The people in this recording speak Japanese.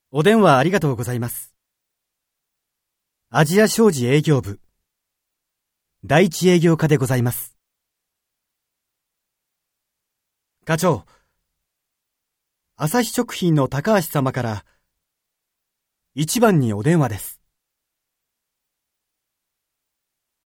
お電話ありがとうございます。アジア商事営業部、第一営業課でございます。課長、朝日食品の高橋様から一番にお電話です。